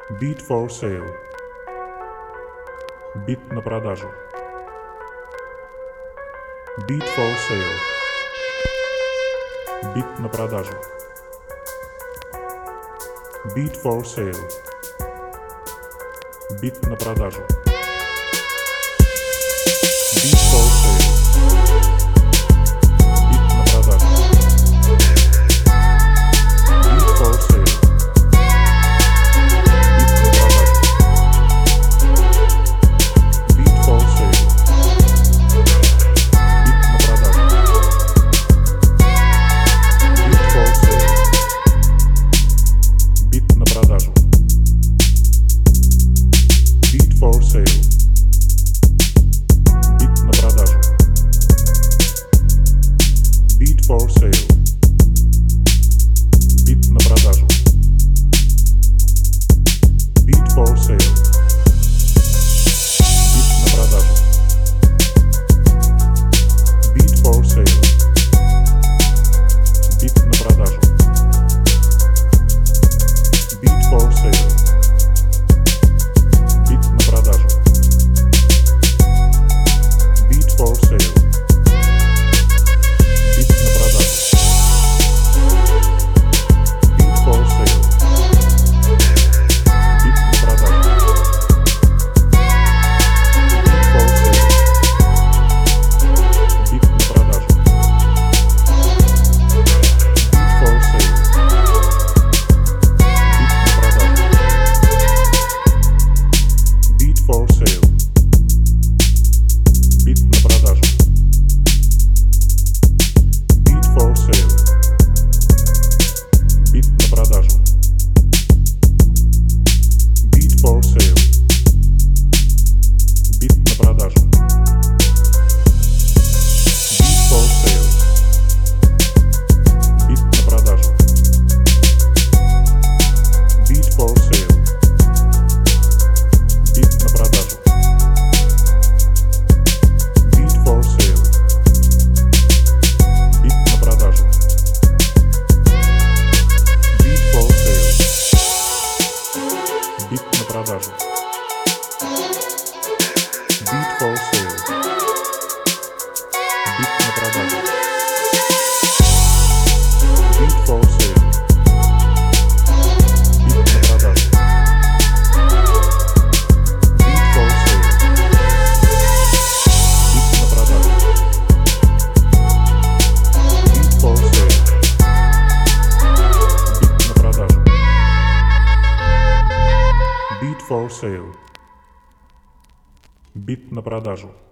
Bid for sale. Бит на продажу. Bid for sale. Бит на продажу. Bid for sale. Бит на продажу. Bid for sale. Бит на продажу. Bid for sale. Bid for sale. Бит на продажу. Bid for sale. Бит на продажу. Bid for sale. Бит на продажу. Bid for sale. Бит на продажу. Bid for sale. Бит на продажу. Bid for sale. Бит на продажу. Bid for sale. Бит на продажу. Bid for sale. Бит на продажу. Bid for sale. Бит на продажу. Bid for sale. Бит на продажу. Bid for sale. Bid for sale. Бит на продажу. Bid for sale. Бит на продажу. Bid for sale. Бит на продажу. Bid for sale. Бит на продажу. Bid for sale. Бит на продажу. Bid for sale. Бит на продажу. Bid for sale. Бит на продажу. Bid for sale. Бит на продажу. Bid for sale. Бит на продажу. Bid for sale. Бит на продажу. Bid for sale. Бит на продажу. Bid for sale. Бит на продажу.